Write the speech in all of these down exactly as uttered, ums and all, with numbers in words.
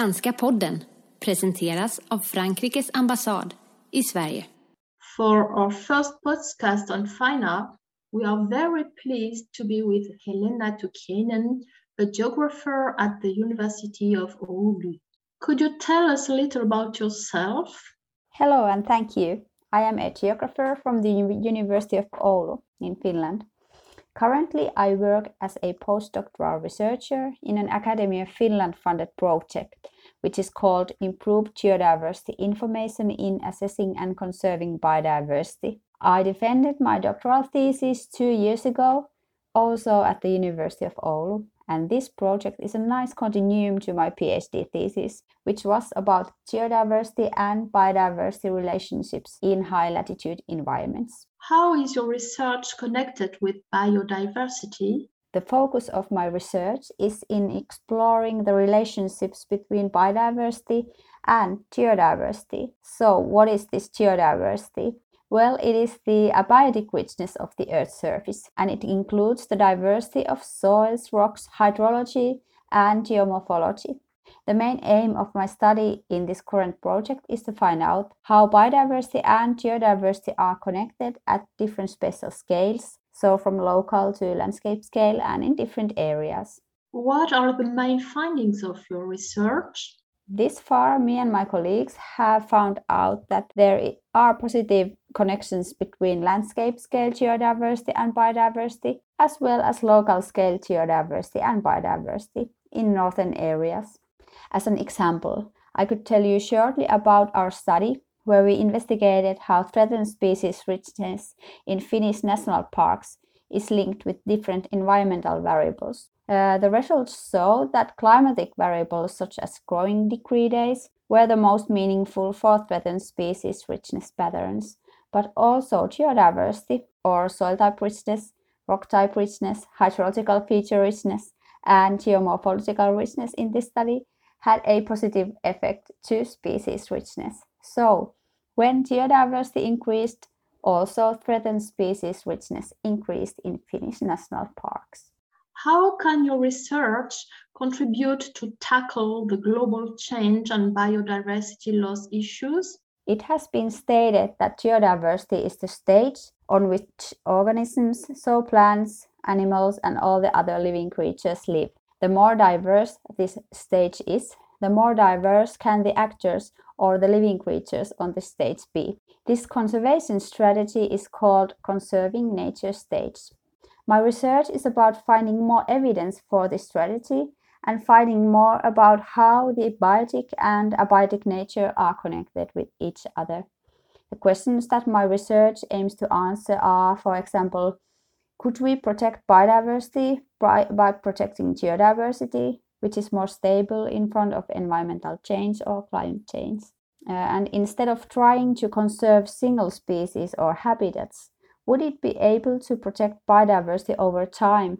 Franska podden presenteras av Frankrikes ambassad i Sverige. For our first podcast on FINA, we are very pleased to be with Helena Tukkanen, a geographer at the University of Oulu. Could you tell us a little about yourself? Hello and thank you. I am a geographer from the University of Oulu in Finland. Currently, I work as a postdoctoral researcher in an Academy of Finland funded project, which is called Improved Geodiversity Information in Assessing and Conserving Biodiversity. I defended my doctoral thesis two years ago, also at the University of Oulu, and this project is a nice continuum to my PhD thesis, which was about geodiversity and biodiversity relationships in high latitude environments. How is your research connected with biodiversity? The focus of my research is in exploring the relationships between biodiversity and geodiversity. So, what is this geodiversity? Well, it is the abiotic richness of the Earth's surface, and it includes the diversity of soils, rocks, hydrology, and geomorphology. The main aim of my study in this current project is to find out how biodiversity and geodiversity are connected at different spatial scales, so from local to landscape scale and in different areas. What are the main findings of your research? This far, me and my colleagues have found out that there are positive connections between landscape scale geodiversity and biodiversity, as well as local scale geodiversity and biodiversity in northern areas. As an example, I could tell you shortly about our study where we investigated how threatened species richness in Finnish national parks is linked with different environmental variables. Uh, the results show that climatic variables such as growing degree days were the most meaningful for threatened species richness patterns, but also geodiversity or soil type richness, rock type richness, hydrological feature richness, and geomorphological richness in this study had a positive effect to species richness. So, when geodiversity increased, also threatened species richness increased in Finnish national parks. How can your research contribute to tackle the global change and biodiversity loss issues? It has been stated that geodiversity is the stage on which organisms, so plants, animals, and all the other living creatures live. The more diverse this stage is, the more diverse can the actors or the living creatures on the stage be. This conservation strategy is called conserving nature stage. My research is about finding more evidence for this strategy and finding more about how the biotic and abiotic nature are connected with each other. The questions that my research aims to answer are, for example, could we protect biodiversity by, by protecting geodiversity, which is more stable in front of environmental change or climate change? Uh, and instead of trying to conserve single species or habitats, would it be able to protect biodiversity over time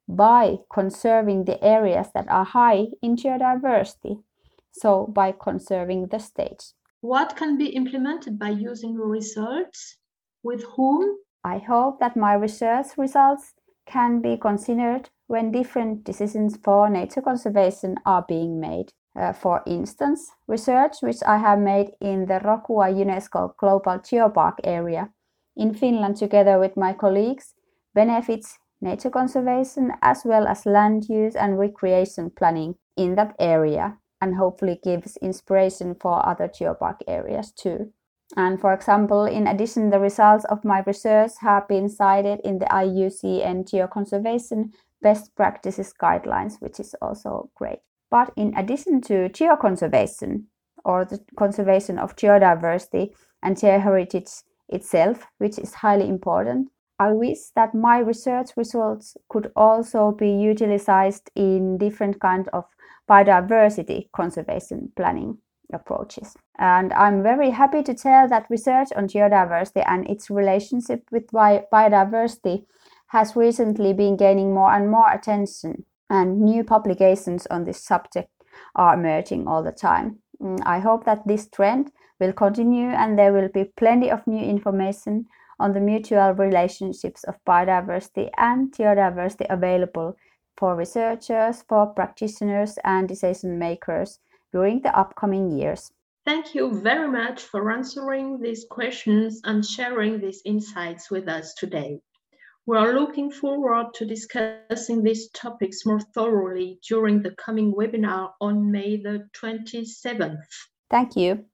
by conserving the areas that are high in geodiversity? So by conserving the stage. What can be implemented by using your results? With whom? I hope that my research results can be considered when different decisions for nature conservation are being made. Uh, for instance, research which I have made in the Rokua UNESCO Global Geopark area in Finland together with my colleagues benefits nature conservation as well as land use and recreation planning in that area and hopefully gives inspiration for other geopark areas too. And for example, in addition, the results of my research have been cited in the I U C N Geoconservation Best Practices Guidelines, which is also great. But in addition to geoconservation, or the conservation of geodiversity and geoheritage itself, which is highly important, I wish that my research results could also be utilized in different kinds of biodiversity conservation planning approaches. And I'm very happy to tell that research on geodiversity and its relationship with bi- biodiversity has recently been gaining more and more attention, and new publications on this subject are emerging all the time. I hope that this trend will continue and there will be plenty of new information on the mutual relationships of biodiversity and geodiversity available for researchers, for practitioners and decision makers during the upcoming years. Thank you very much for answering these questions and sharing these insights with us today. We are looking forward to discussing these topics more thoroughly during the coming webinar on May the twenty-seventh. Thank you.